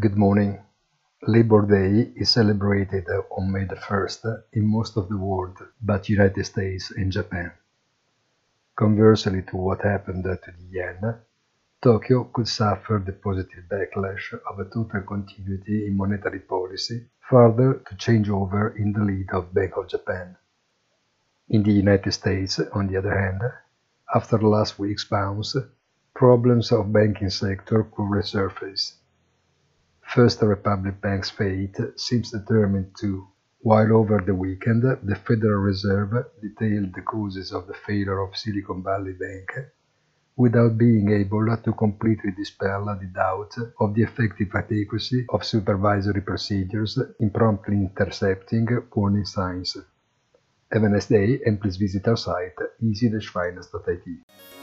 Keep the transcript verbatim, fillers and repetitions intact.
Good morning. Labor Day is celebrated on May the first in most of the world, but United States and Japan. Conversely to what happened to the yen, Tokyo could suffer the positive backlash of a total continuity in monetary policy, further to change over in the lead of Bank of Japan. In the United States, on the other hand, after last week's bounce, problems of banking sector could resurface. First Republic Bank's fate seems determined too, while over the weekend the Federal Reserve detailed the causes of the failure of Silicon Valley Bank, without being able to completely dispel the doubt of the effective adequacy of supervisory procedures in promptly intercepting warning signs. Have a nice day and please visit our site easy dash finance dot I T.